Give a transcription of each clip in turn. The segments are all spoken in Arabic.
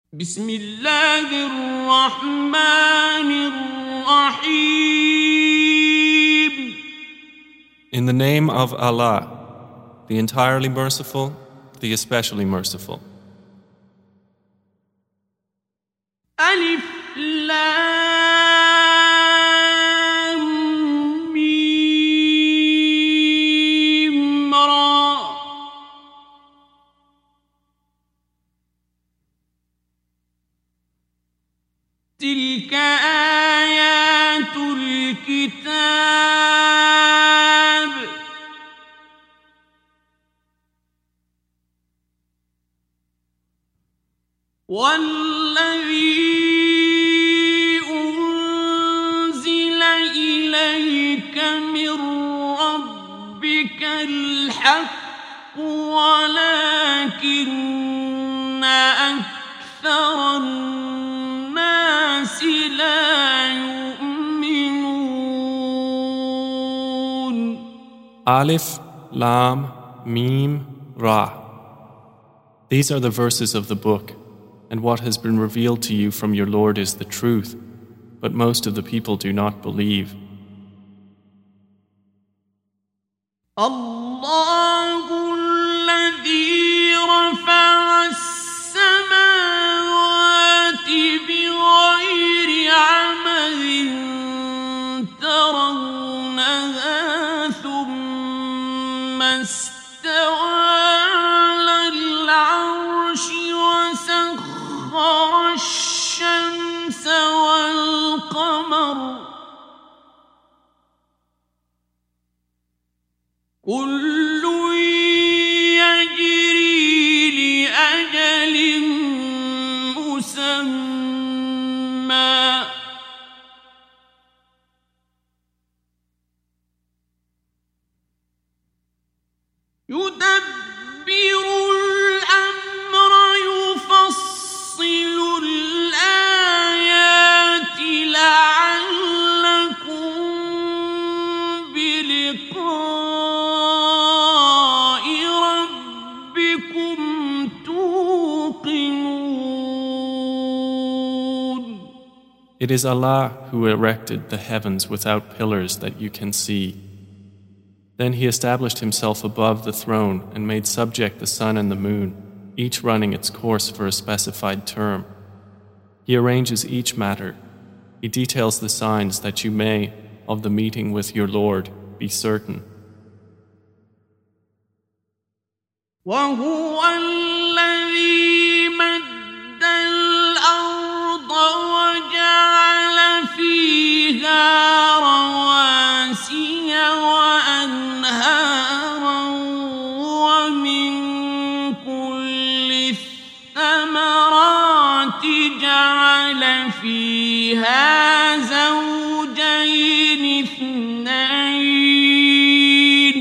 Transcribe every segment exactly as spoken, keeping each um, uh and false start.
بسم الله الرحمن الرحيم. In the name of Allah, the entirely merciful, the especially merciful. ألف لام ميم را. تلك آيات الكتاب والذي أنزل إليك من ربك الحق ولكن أكثر الناس لا يؤمنون. Alif, Lam, Mim, Ra. These are the verses of the book, and what has been revealed to you from your Lord is the truth, but most of the people do not believe. الله الذي رفع السماوات بغير عمد ترونها ثم استوى على العرش وسخر الشمس والقمر كل يجري لأجل مسمى يدبر الأمر يفصل الآيات لعلكم بلقاء ربكم توقنون. It is Allah who erected the heavens without pillars that you can see. Then He established Himself above the throne and made subject the sun and the moon, each running its course for a specified term. He arranges each matter. He details the signs that you may, of the meeting with your Lord, be certain. وهو الذي مد الأرض وجعل فيها رواسي وأنهارا ومن كل الثمرات جعل فيها زوجين اثنين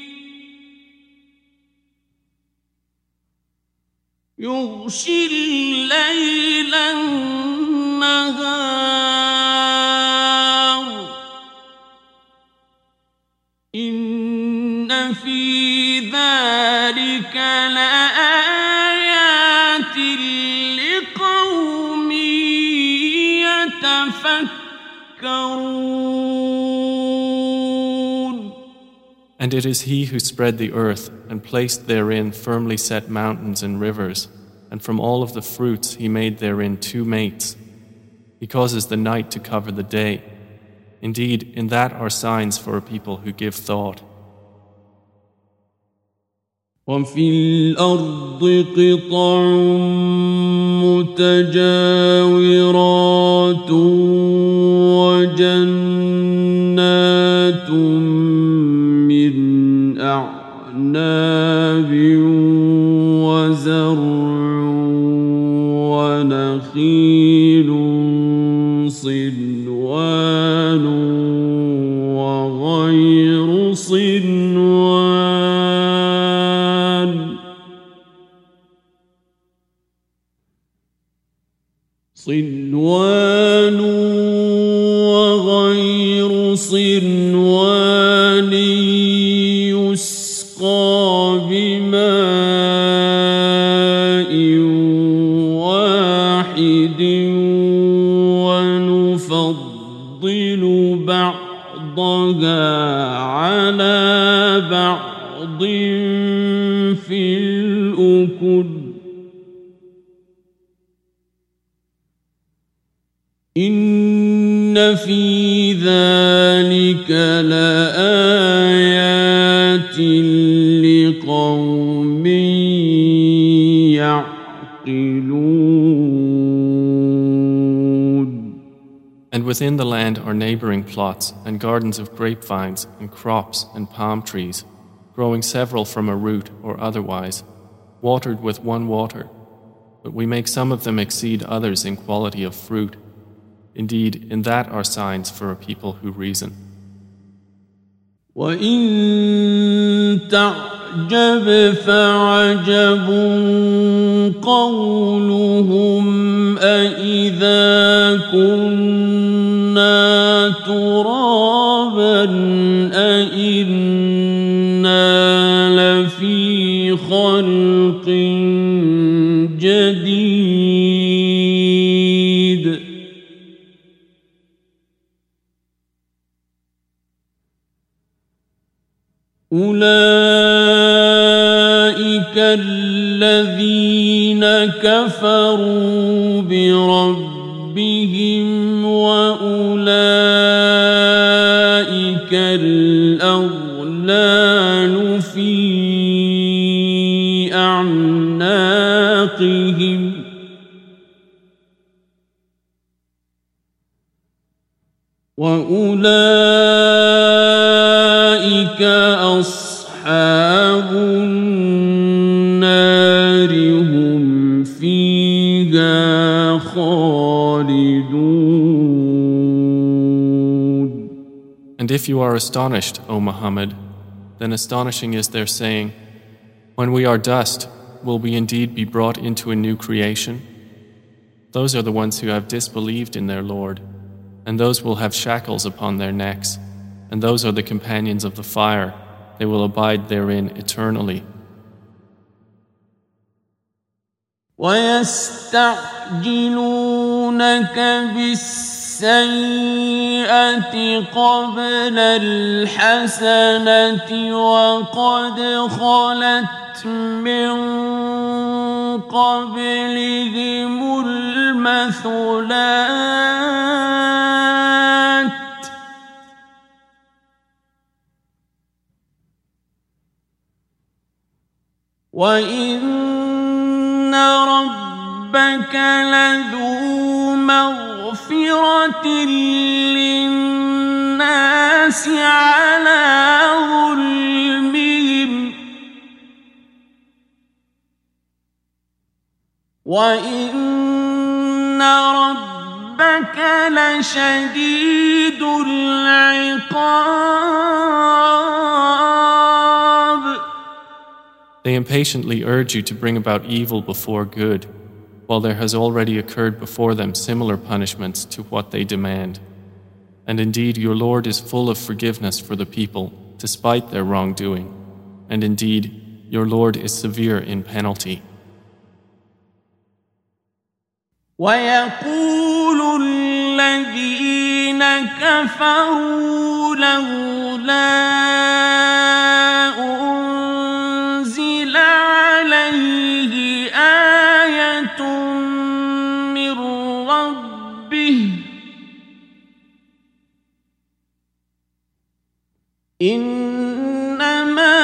يغشي الليل النهار إن في ذلك لآيات لقوم يتفكرون. And it is He who spread the earth and placed therein firmly set mountains and rivers, and from all of the fruits He made therein two mates. He causes the night to cover the day. Indeed, in that are signs for a people who give thought. وفي الأرض قطع متجاورات وجنات من أعناب وزرع ونخيل صنوان وغير صنوان صنوان وغير صنوان يسقى بماء واحد واحد ونفضل بعضها على بعض في الأكل إن في ذلك لآيات لقوم يعقلون. And within the land are neighboring plots and gardens of grapevines and crops and palm trees, growing several from a root or otherwise, watered with one water. But we make some of them exceed others in quality of fruit. Indeed, in that are signs for a people who reason. وَإِن تَعْجَبْ فَعَجَبٌ قَوْلُهُمْ أَإِذَا كُنَّا تُرَابًا أَإِنَّا لَفِي خَلْقٍ جَدِيدٍ أولئك الذين كفروا بربهم وأولئك الأغلال في أعناقهم وأولئك أصحاب النار هم فيها خالدون. And if you are astonished, O Muhammad, then astonishing is their saying, when we are dust, will we indeed be brought into a new creation? Those are the ones who have disbelieved in their Lord, and those will have shackles upon their necks, and those are the companions of the fire. They will abide therein eternally. وَيَسْتَعْجِلُونَكَ بِالسَّيِّئَةِ قَبْلَ الْحَسَنَةِ وَقَدْ خَلَتْ مِنْ قَبْلِهِمُ الْمَثُلَاتُ وَإِنَّ رَبَّكَ لَذُو مَغْفِرَةٍ لِلنَّاسِ عَلَى ظُلْمِهِمْ وَإِنَّ رَبَّكَ لَشَدِيدُ الْعِقَابِ. They impatiently urge you to bring about evil before good, while there has already occurred before them similar punishments to what they demand. And indeed your Lord is full of forgiveness for the people, despite their wrongdoing. And indeed, your Lord is severe in penalty. وَيَقُولُ الَّذِينَ كَفَرُوا لَوْلَا أُنزِلَ عَلَيْهِ آيَةٌ مِّن رَّبِّهِ إِنَّمَا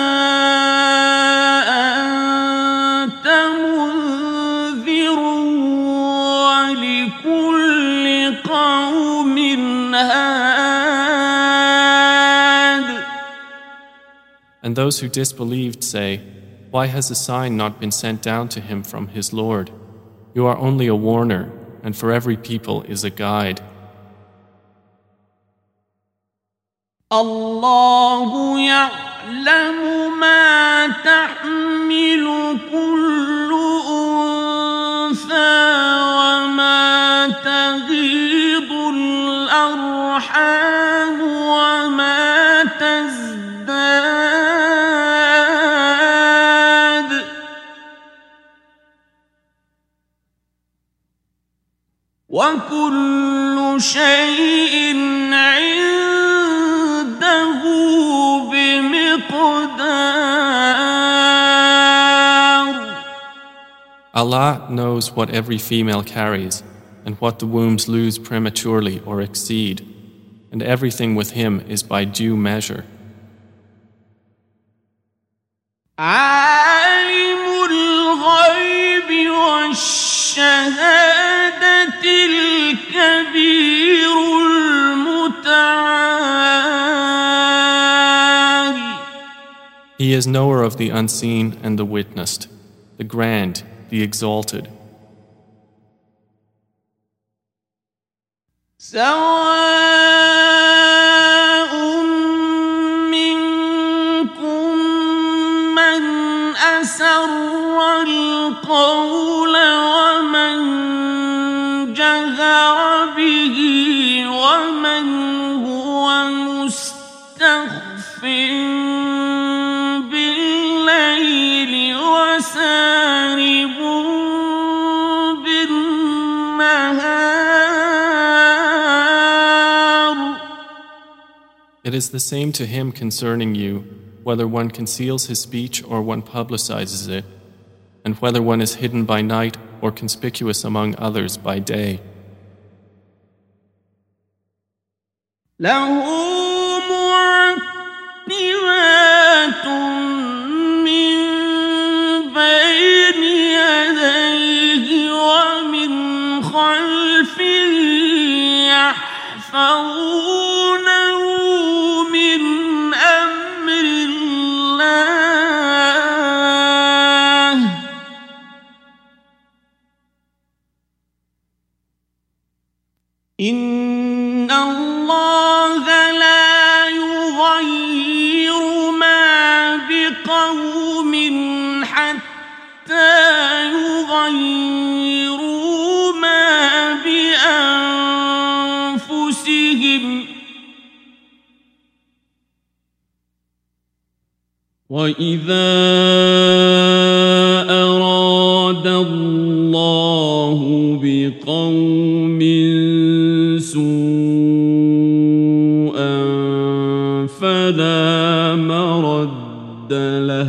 أَنتَ مُنذِرٌ وَلِكُلِّ قَوْمٍ هَادٍ. And those who disbelieved say, why has a sign not been sent down to him from his Lord? You are only a warner, and for every people is a guide. الله يعلم ما تحمل كل أنثى وما تغيض الأرحام وما تزداد وكل شيء عنده بمقدار. Allah knows what every female carries and what the wombs lose prematurely or exceed, and everything with him is by due measure. عالم الغيب والشهادة الكبير المتعال. He is knower of the unseen and the witnessed, the grand, the exalted. سواء منكم من أسر القول ومن جهر به ومن هو مستخف بالليل وسارب It is the same to him concerning you, whether one conceals his speech or one publicizes it, and whether one is hidden by night or conspicuous among others by day. له معقبات من بين يديه ومن خلفه يحفظونه من أمر الله إن الله لا يغير ما بقوم حتى يغيروا ما بأنفسهم وإذا أراد الله بقوم سوءا فلا مرد له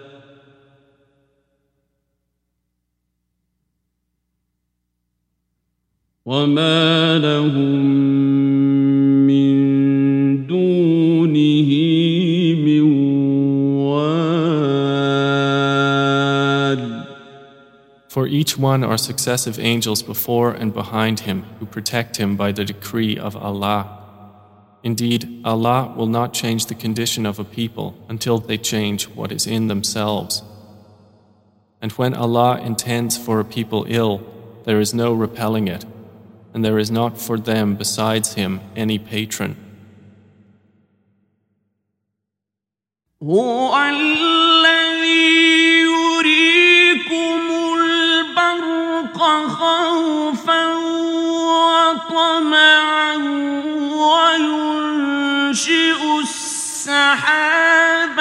وما لهم من دونه من وال. For each one are successive angels before and behind him who protect him by the decree of Allah. Indeed, Allah will not change the condition of a people until they change what is in themselves. And when Allah intends for a people ill, there is no repelling it, and there is not for them besides him any patron. هو الذي يريكم البرق خوفا وطمعا وينشئ السحاب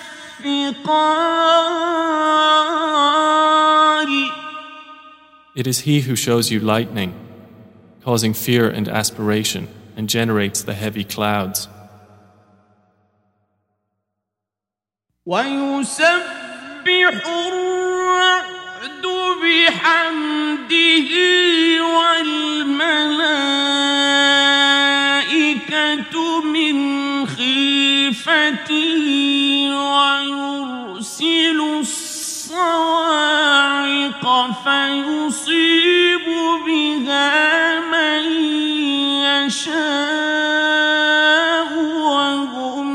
الثقال. It is He who shows you lightning, causing fear and aspiration, and generates the heavy clouds. ويسبح الرعد بحمده والملائكة من خيفته ويرسل الصواعق فيصيب بها من يشاء وهم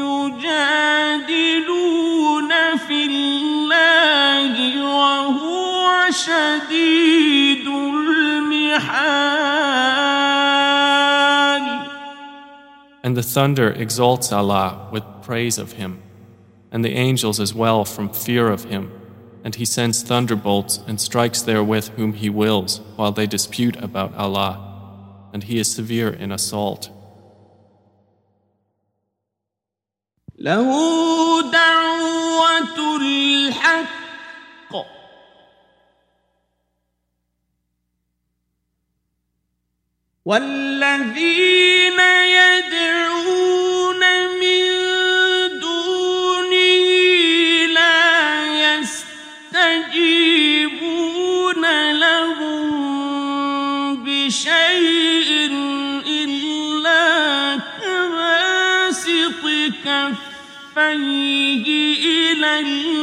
يجادلون في الله وهو شديد المحال. And the thunder exalts Allah with praise of Him, and the angels as well from fear of Him, and He sends thunderbolts and strikes therewith whom He wills while they dispute about Allah, and He is severe in assault. له دعوة الحق والذين يدعون من دونه لا يستجيبون لهم بشيء إلا كباسط كفيه إلى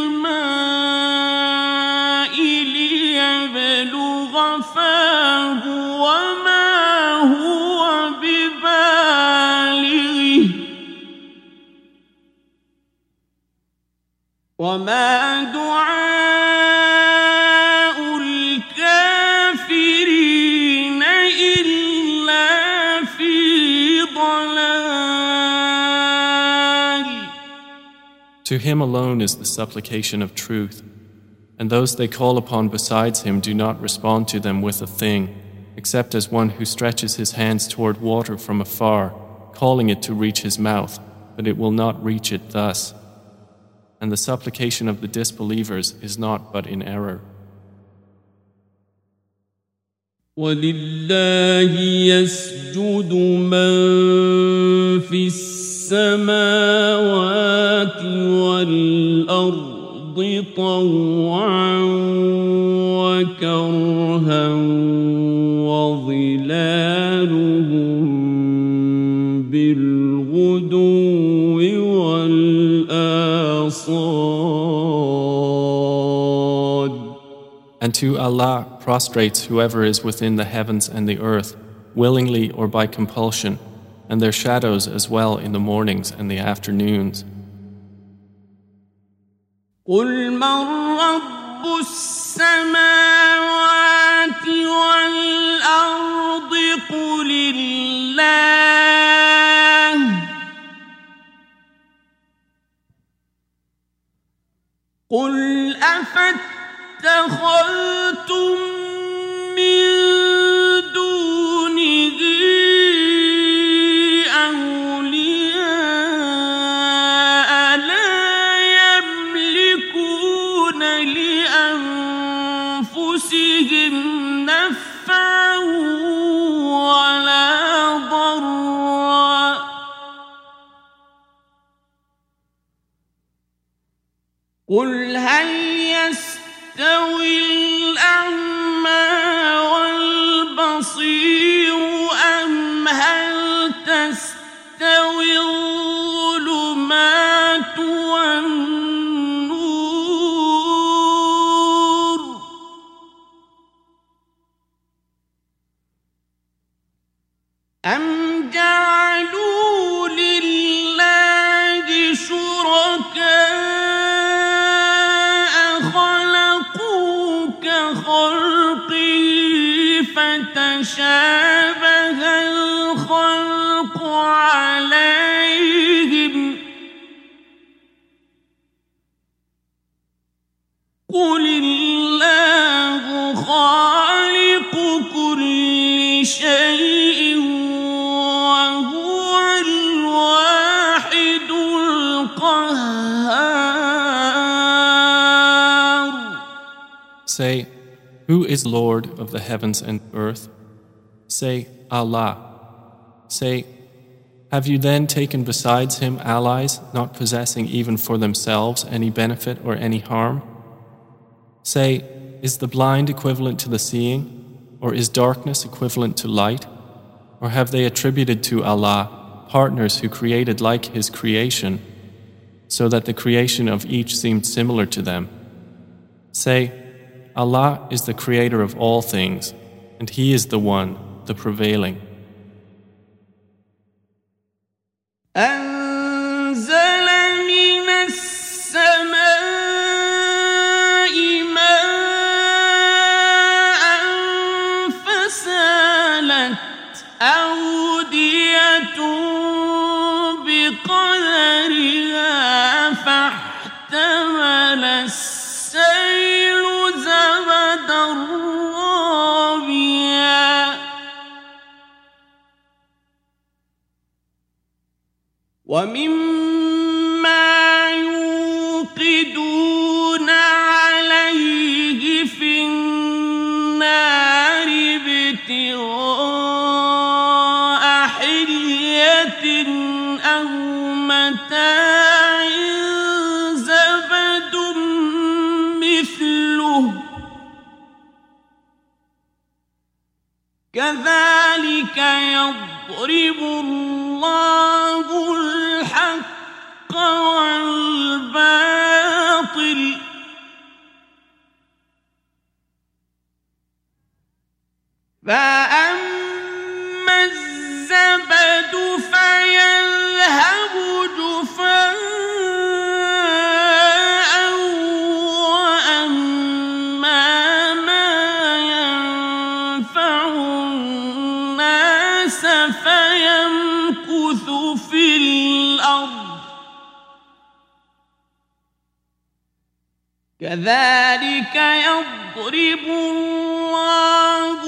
الماء ليبلغ فاه وما هو ببالغه وما دعاء الكافرين إلا في ضلال. To him alone is the supplication of truth, and those they call upon besides him do not respond to them with a thing, except as one who stretches his hands toward water from afar, calling it to reach his mouth, but it will not reach it thus. And the supplication of the disbelievers is not but in error. وَلِلَّهِ يَسْجُدُ مَن فِي السَّمَاوَاتِ وَالْأَرْضِ طَوْعًا وَكَرْهًا وَظِلَالُهُم بِالْغُدُوِّ وَالْآصَالِ. And to Allah prostrates whoever is within the heavens and the earth, willingly or by compulsion, and their shadows as well in the mornings and the afternoons. قُلْ مَنْ رَبُّ السَّمَاوَاتِ وَالْأَرْضِ قُلِ اللَّهُ قُلْ أَفَاتَّخَذْتُم مِّن دُونِهِ أَوْلِيَاءَ لَا يَمْلِكُونَ لِأَنفُسِهِمْ نَفْعًا وَلَا ضَرًّا قُلْ هَلْ يَسْتَوِي الْأَعْمَى وَالْبَصِيرُ أَمْ هَلْ تَسْتَوِي الظُّلُمَاتُ وَالنُّورُ أَمْ جَعَلُوا لِلَّهِ شُرَكَاءَ خَلَقُوا كَخَلْقِهِ فَتَشَابَهَ الْخَلْقُ عَلَيْهِمْ قُلِ اللَّهُ خَالِقُ كُلِّ شَيْءٍ وَهُوَ الْوَاحِدُ الْقَهَّارُ. Say, who is Lord of the heavens and earth? Say, Allah. Say, have you then taken besides him allies, not possessing even for themselves any benefit or any harm? Say, is the blind equivalent to the seeing, or is darkness equivalent to light? Or have they attributed to Allah partners who created like his creation, so that the creation of each seemed similar to them? Say, Allah is the creator of all things, and he is the one, the prevailing. أنزل من السماء ماء فسالت أودية بقدرها فاحتمل السيل زبدا رابيا ومما يوقدون عليه في النار ابتغاء أو متاع زبد مثله كذلك يضرب الله الحق والباطل فأما الزبد فيذهب جفاء وأما ما ينفع الناس فيمكث في الأرض كذلك يضرب الله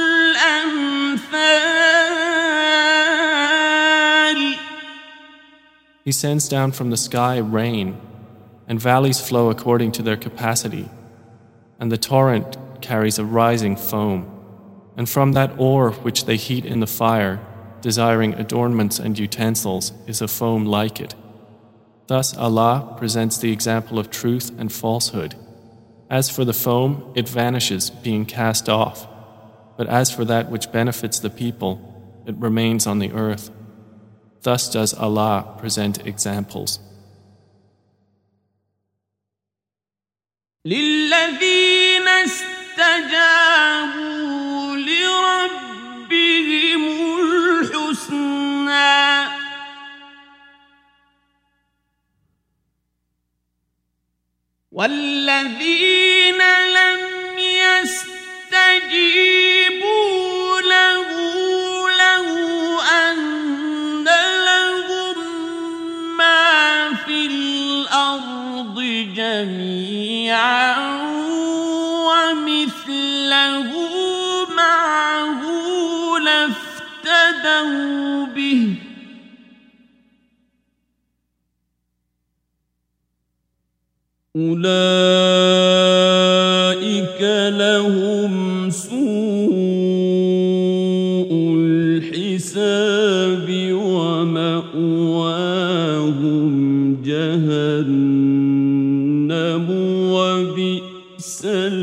الأمثال. He sends down from the sky rain, and valleys flow according to their capacity, and the torrent carries a rising foam, and from that ore which they heat in the fire, desiring adornments and utensils, is a foam like it. Thus Allah presents the example of truth and falsehood. As for the foam, it vanishes, being cast off. But as for that which benefits the people, it remains on the earth. Thus does Allah present examples. للذين استجابوا لربهم الحسنى والذين لم يستجيبوا له لو أن لهم ما في الأرض جميعا ومثله معه لافتدوا به أولئك لهم سوء الحساب ومأواهم جهنم وبئس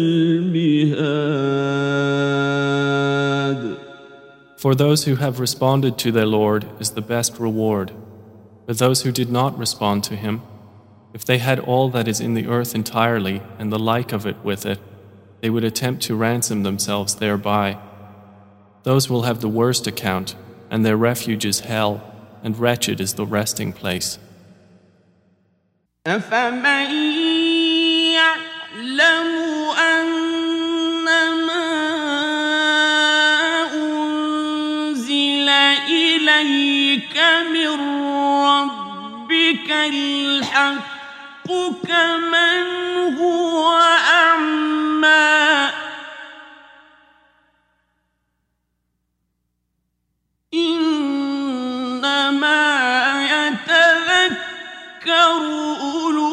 المهاد. For those who have responded to their Lord is the best reward. But those who did not respond to him, if they had all that is in the earth entirely and the like of it with it, they would attempt to ransom themselves thereby. Those will have the worst account, and their refuge is hell, and wretched is the resting place. أفمن يعلم أنما أنزل إليك من ربك الحق كمن هو أعمى إنما يتذكر أولو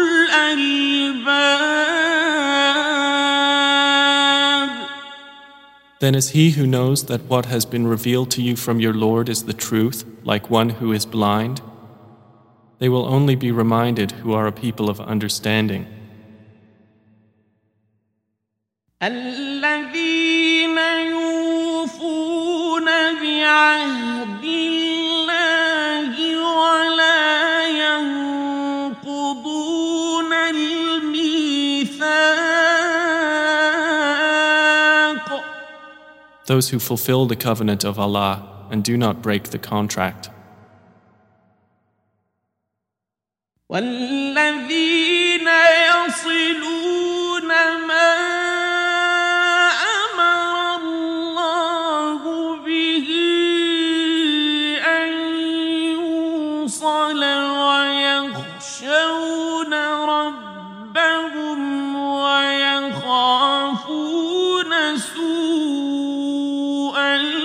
الألباب. Then is he who knows that what has been revealed to you from your Lord is the truth, like one who is blind? They will only be reminded who are a people of understanding. الذين يوفون بعهد الله ولا ينقضون الميثاق. Those who fulfill the covenant of Allah and do not break the contract. والذين يصلون ما أمر الله به أن يوصل ويخشون ربهم ويخافون سوء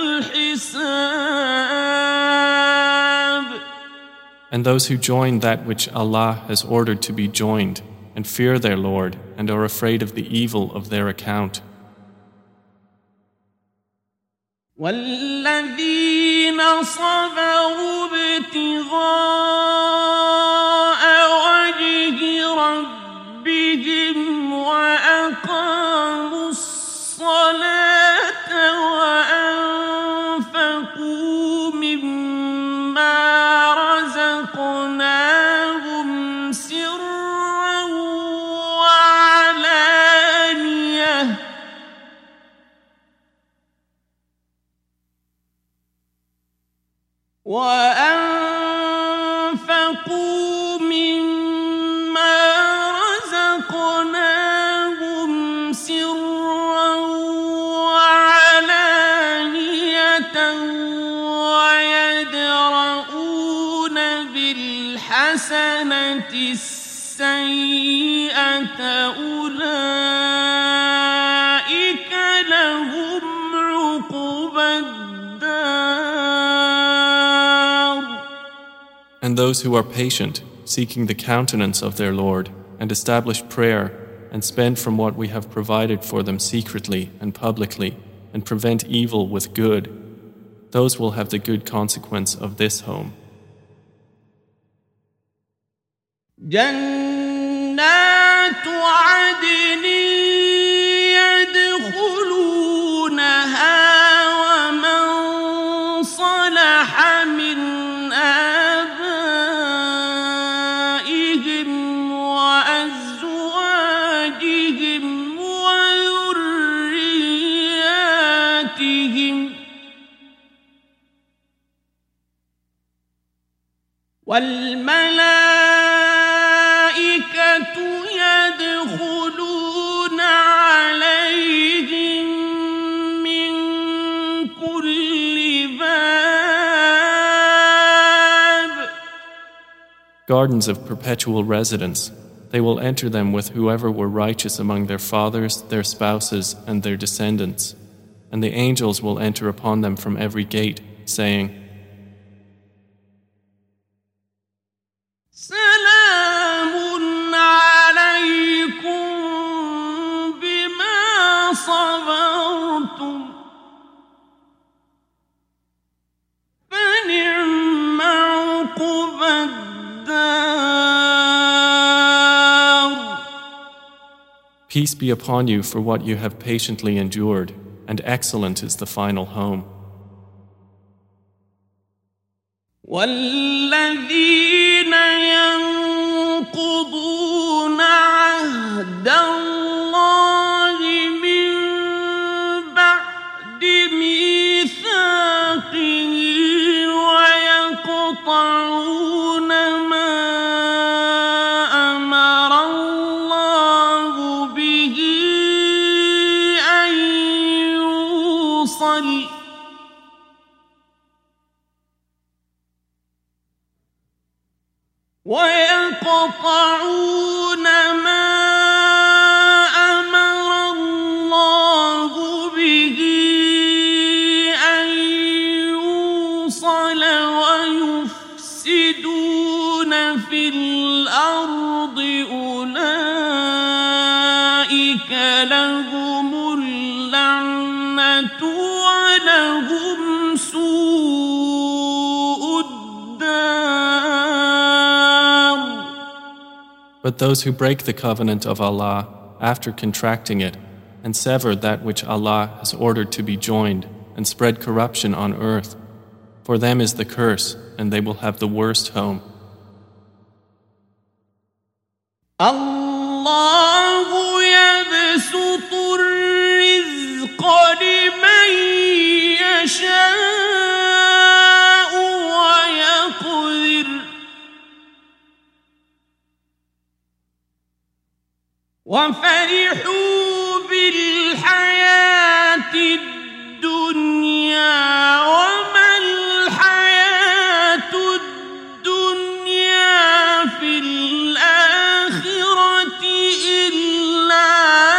الحساب. And those who join that which Allah has ordered to be joined, and fear their Lord, and are afraid of the evil of their account. والذين صبروا ابتغاء وجه ربهم وأقاموا الصلاة وأنفقوا مما رزقناهم سرا وعلانية وأنفقوا مما رزقناهم سرا وعلانية ويدرؤون بالحسنة السيئة أولئك لهم عقبى And those who are patient, seeking the countenance of their Lord, and establish prayer, and spend from what we have provided for them secretly and publicly, and prevent evil with good, those will have the good consequence of this home. جنات عدن يدخلونها ومن صلح من آبائهم وأزواجهم وذرياتهم والملائكة يدخلون عليهم من كل باب. Gardens of perpetual residence. They will enter them with whoever were righteous among their fathers, their spouses, and their descendants. And the angels will enter upon them from every gate, saying, سلام عليكم بما صبرتم فنعم عقبى الدار. Peace be upon you for what you have patiently endured, and excellent is the final home. والذين ينقضون عهد الله من بعد ميثاقه ويقطعون ما أمر الله به أن يوصل ويقطعون ما أمر الله به أن يوصل ويفسدون في الأرض أولئك لهم اللعنة ولهم سوء الدار. But those who break the covenant of Allah after contracting it and sever that which Allah has ordered to be joined and spread corruption on earth, for them is the curse and they will have the worst home. الله يبسط الرزق لمن يشاء ويقدر وفرحوا بالحياة الدنيا وما الحياة الدنيا في الآخرة إلا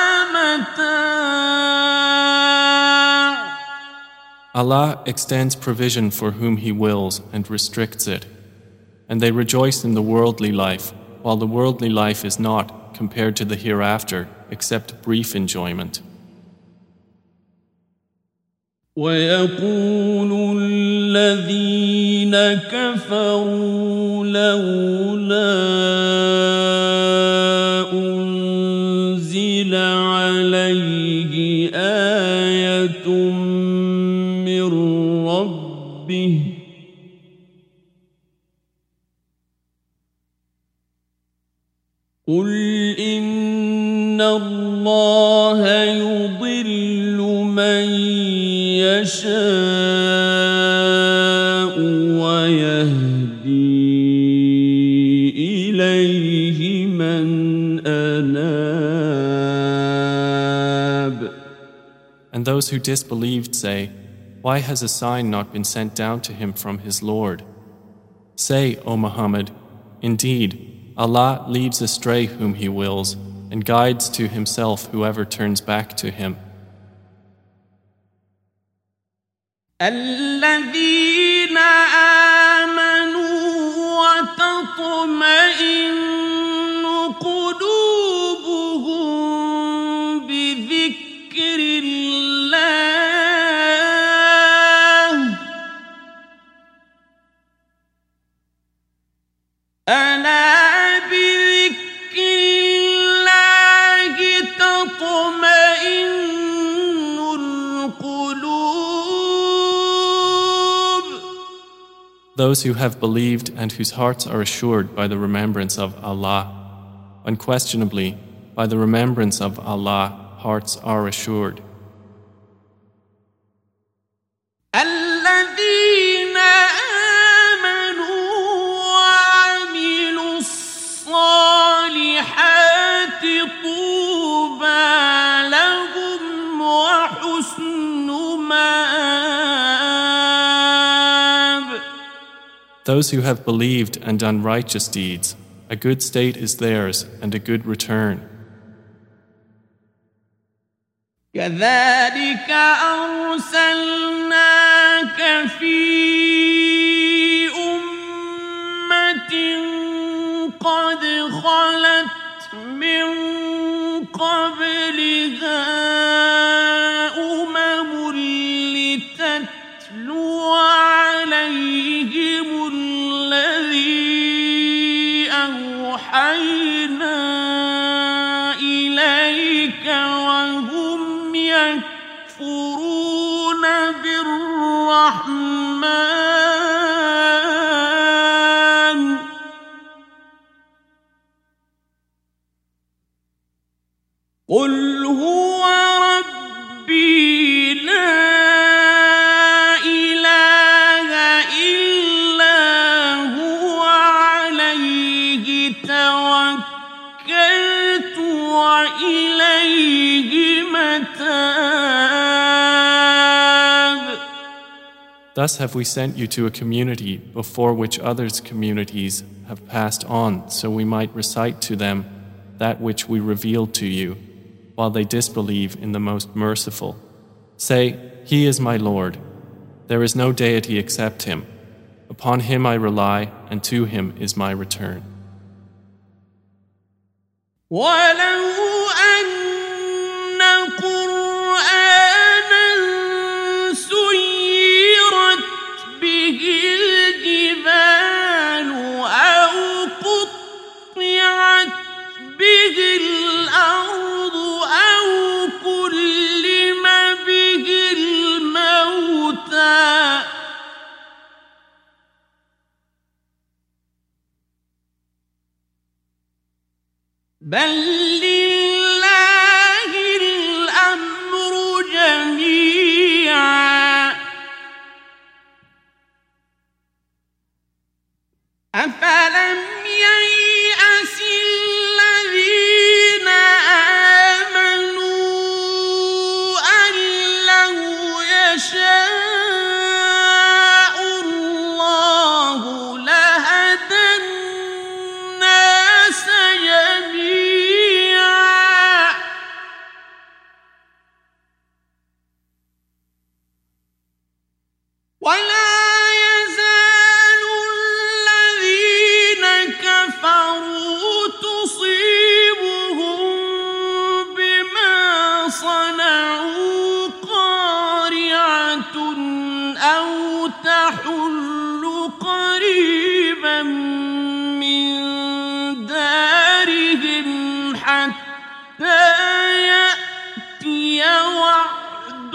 متاع. Allah extends provision for whom He wills and restricts it. And they rejoice in the worldly life, while the worldly life is not, compared to the hereafter, except brief enjoyment. ويقول الذين كفروا لولا أنزل عليه آية من ربه قل إن الله يضل من يشاء ويهدي إليه من أناب. And those who disbelieved say, why has a sign not been sent down to him from his Lord? Say, O Muhammad, indeed, Allah leads astray whom He wills and guides to Himself whoever turns back to Him. الذين آمنوا وتطمئن قلوبهم بذكر الله ألا Those who have believed and whose hearts are assured by the remembrance of Allah. Unquestionably, by the remembrance of Allah, hearts are assured. الذين آمنوا وعملوا الصالحات طوبى لهم وحسن مآب. Those who have believed and done righteous deeds, a good state is theirs and a good return. كذلك أرسلناك في أمة قد خلت من قبلها أمم لتتلو عليهم الذي أوحينا إليك وهم يكفرون بالرحمن قل هو ربي لا إله إلا هو عليه توكلت وإليه متاب. Thus have we sent you to a community before which others' communities have passed on, so we might recite to them that which we revealed to you, while they disbelieve in the Most Merciful. Say, He is my Lord. There is no deity except Him. Upon Him I rely, and to Him is my return. ولو أن قرآنا سيرت به الجبال أو قطعت به الأرض أو كلم به الموتى بل لله الأمر جميعا أفلم ييأس الذين آمنوا أن لو يشاء الله لهدى الناس جميعا ولا يزال الذين كفروا تصيبهم بما صنعوا قارعة أو تحل قريبا من دارهم حتى يأتي وعد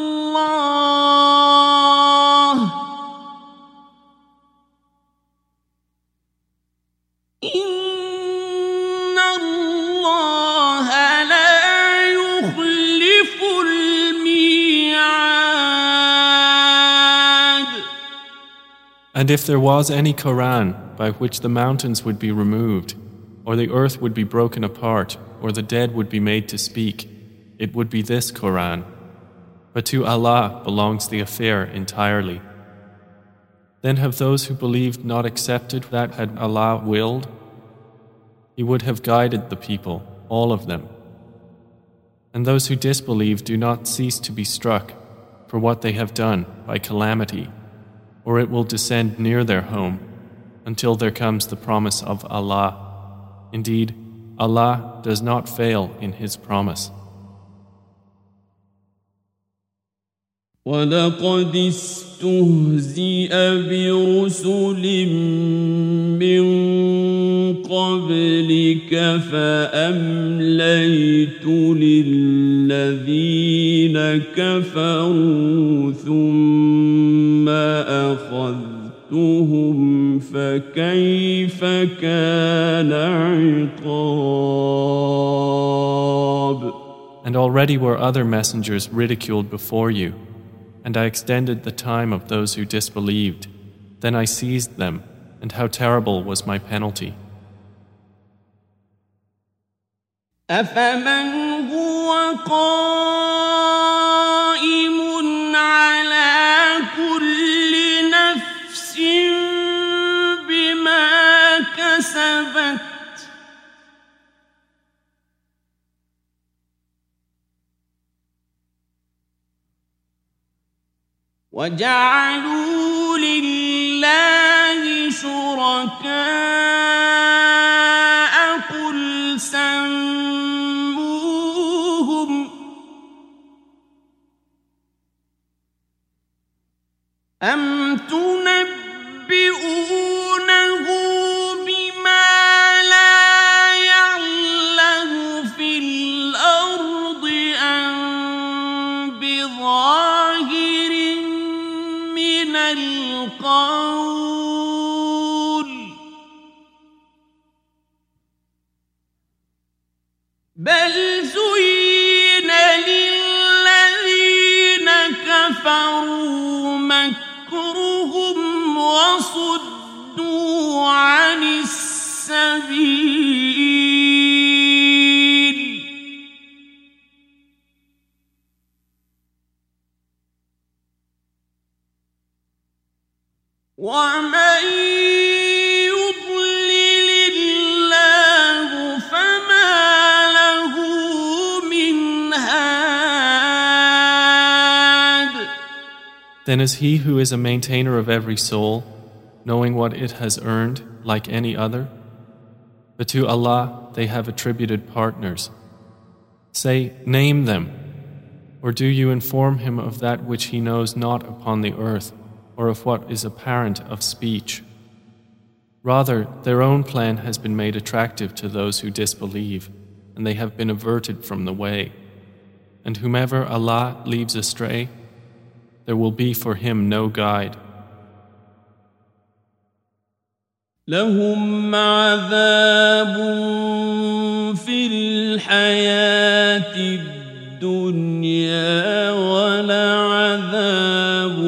الله إن الله لا يخلف الميعاد. And if there was any Quran by which the mountains would be removed, or the earth would be broken apart, or the dead would be made to speak, it would be this Quran. But to Allah belongs the affair entirely. Then have those who believed not accepted that had Allah willed? He would have guided the people, all of them. And those who disbelieve do not cease to be struck for what they have done by calamity, or it will descend near their home until there comes the promise of Allah. Indeed, Allah does not fail in His promise. وَلَقَدِ اسْتُهْزِئَ بِرُسُلٍ مِّن قَبْلِكَ فَأَمْلَيْتُ لِلَّذِينَ كَفَرُوا ثُمَّ أَخَذْتُهُمْ فَكَيْفَ كَانَ عِقَابِ. And already were other messengers ridiculed before you, and I extended the time of those who disbelieved. Then I seized them, and how terrible was my penalty. أَفَمَنْ هُوَ قَائِمٌ عَلَى كُلِّ نَفْسٍ بِمَا كَسَبَتْ وَجَعَلُوا لِلَّهِ شُرَكَاءَ قُلْ سَمُّوهُمْ أَمْ تُنَبِّئُونَهُ بِمَا لَا يَعْلَمُ فِي الْأَرْضِ أَمْ بِظَاهِرٍ مِّنَ الْقَوْلِ بَلْ زُيِّنَ لِلَّذِينَ كَفَرُوا مَكْرُهُمْ وَصُدُّوا عَنِ السَّبِيلِ وَمَن يُضْلِلِ اللَّهُ فَمَا لَهُ مِنْ هَادٍ. Then is he who is a maintainer of every soul, knowing what it has earned, like any other? But to Allah they have attributed partners. Say, name them, or do you inform him of that which he knows not upon the earth, or of what is apparent of speech? Rather, their own plan has been made attractive to those who disbelieve, and they have been averted from the way. And whomever Allah leaves astray, there will be for him no guide. لهم عذاب في الحياة الدنيا ولعذاب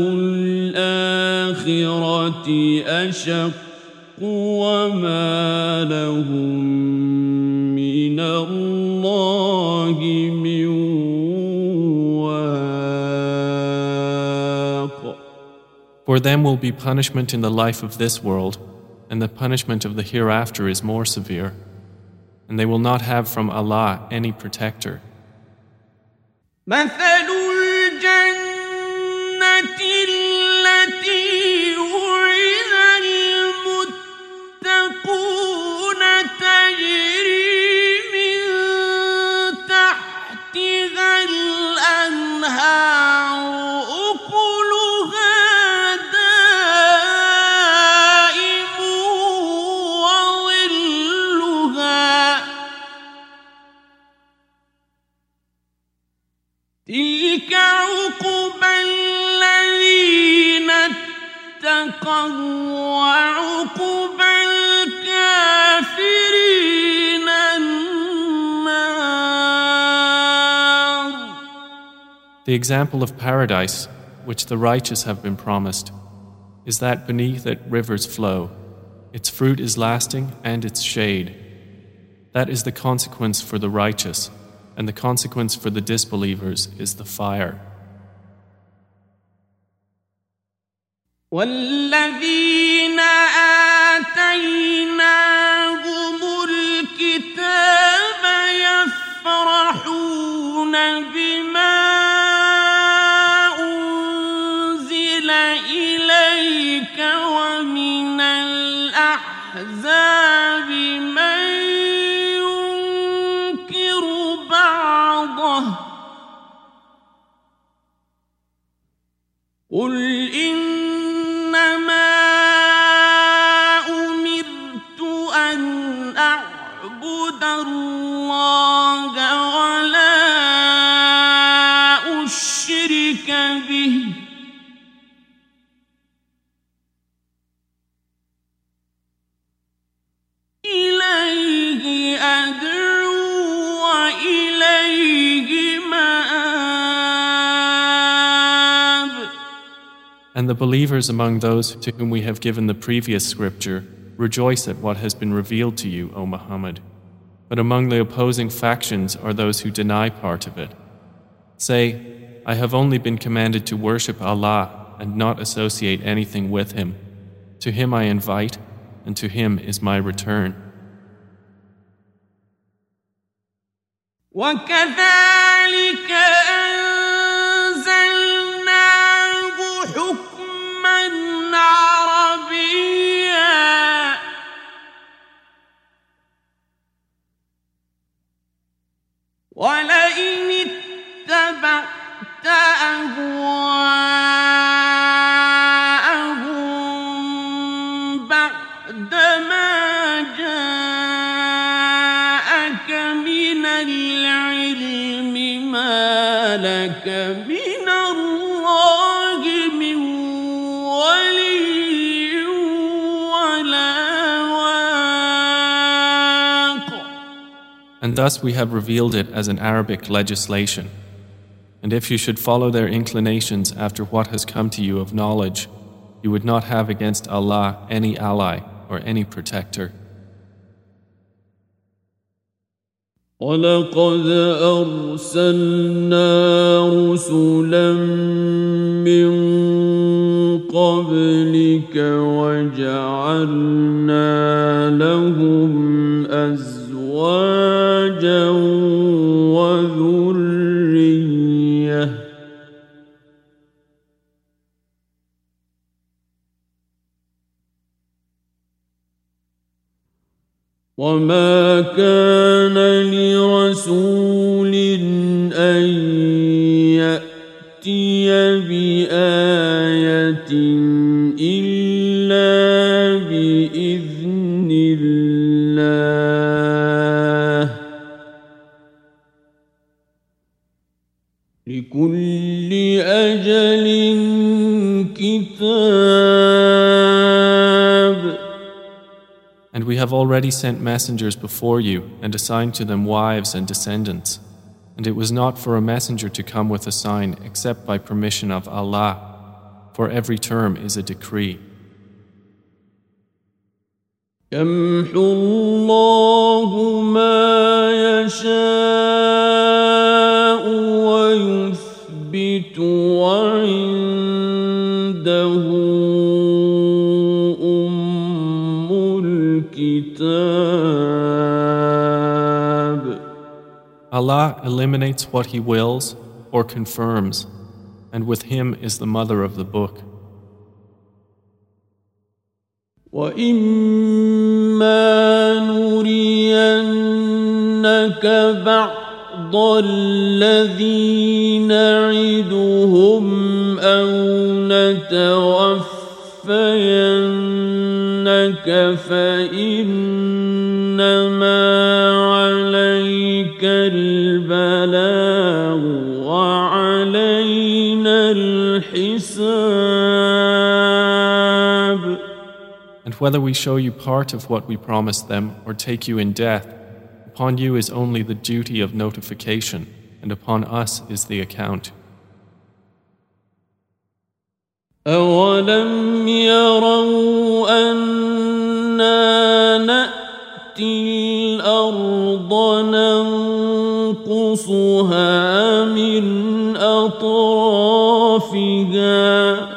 الآخرة أشق وما لهم من الله من واق. For them will be punishment in the life of this world, and the punishment of the hereafter is more severe, and they will not have from Allah any protector. مثل الجنة التي وعد المتقون تجري من تحتها الأنهار أكلها وعقبى الكافرين النار. The example of paradise, which the righteous have been promised, is that beneath it rivers flow. Its fruit is lasting and its shade. That is the consequence for the righteous, and the consequence for the disbelievers is the fire. والذين آتيناهم الكتاب يفرحون بما أنزل إليك ومن الأحزاب من ينكر بعضه قل إنما أمرت أن أعبد الله ولا أشرك به إليه أدعو وإليه مآب. And the believers among those to whom we have given the previous scripture rejoice at what has been revealed to you, O Muhammad. But among the opposing factions are those who deny part of it. Say, I have only been commanded to worship Allah and not associate anything with Him. To Him I invite, and to Him is my return. وكذلك أنزلناه حكما عربيا ولئن اتبعت أهواءهم بعدما جاءك من العلم ما لك من الله من ولي ولا واق. And thus we have revealed it as an Arabic legislation. And if you should follow their inclinations after what has come to you of knowledge, you would not have against Allah any ally or any protector. وَلَقَدْ أَرْسَلْنَا رُسُلًا مِّن قَبْلِكَ وَجَعَلْنَا لَهُمْ أَزْوَاجًا وَذُرِّيَّةً وَمَا كَانَ لِرَسُولٍ أَن يَأْتِيَ بِآيَةٍ إِلَّا بِإِذْنِ اللَّهِ لِكُلِّ أَجَلٍ كِتَابٌ. And we have already sent messengers before you and assigned to them wives and descendants. And it was not for a messenger to come with a sign except by permission of Allah, for every term is a decree. يَمْحُو اللَّهُ مَا يَشَاءُ وَيُثْبِتُ وَعِندَهُ أُمُّ الْكِتَابِ. Allah eliminates what He wills or confirms, and with Him is the mother of the book. وَإِمَّا نُرِيَنَّكَ بَعْضَ الَّذِي نَعِدُهُمْ أَوْ نَتَوَفَّيَنَّكَ فَإِنَّمَا عَلَيْكَ الْبَلَاغُ وَعَلَيْنَا الحساب. And whether we show you part of what we promised them or take you in death, upon you is only the duty of notification, and upon us is the account. أَوَلَمْ يَرَوْا أَنَّا نَأْتِي الْأَرْضَ نَنقُصُهَا مِنْ أَطْرَافِهَا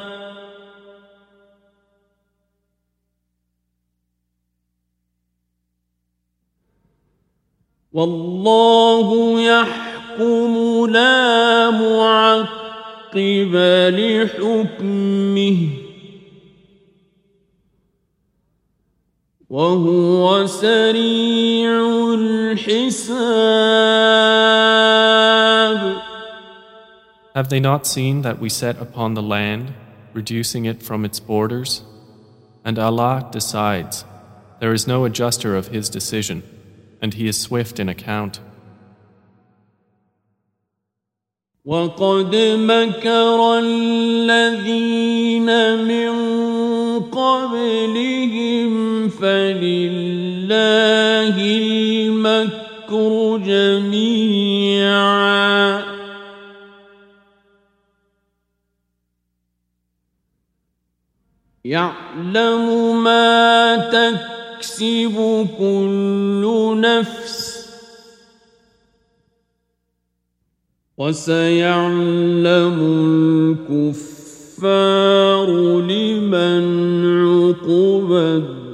وَاللَّهُ يَحْكُمُ لَا مُعَقِّبَ لِحُكْمِهِ وَهُوَ سَرِيعُ الْحِسَابِ. Have they not seen that we set upon the land, reducing it from its borders? And Allah decides. There is no adjuster of His decision, and He is swift in account. وَقَدْ مَكَرَ الَّذِينَ مِنْ قَبْلِهِمْ فَلِلَّهِ الْمَكْرُ جَمِيعًا يَعْلَمُ مَا تَكْسِبُ كُلُّ نَفْسٍ وَسَيَعْلَمُ الْكُفَّارُ لِمَنْ عُقْبَى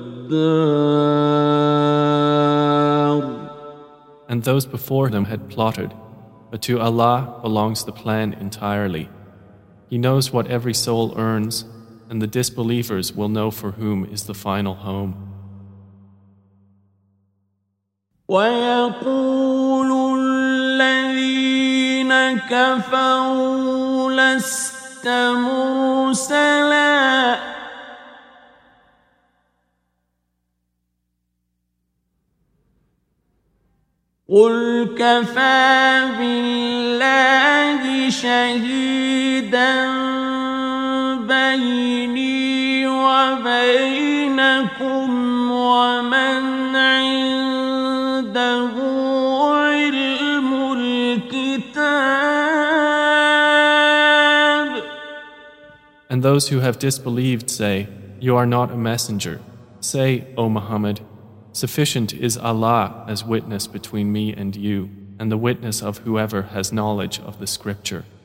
الدَّارِ. And those before them had plotted, but to Allah belongs the plan entirely. He knows what every soul earns, and the disbelievers will know for whom is the final home. وَيَقُولُ الَّذِينَ كَفَرُوا لَسْتَ مُرْسَلًا قُلْ كَفَى بِاللَّهِ شَهِيدًا بَيْنِي وَبَيْنَكُمْ وَمَنْ عِندَهُ عِلْمُ الْكِتَابِ. And those who have disbelieved say, You are not a messenger. Say, O Muhammad, sufficient is Allah as witness between me and you, and the witness of whoever has knowledge of the scripture.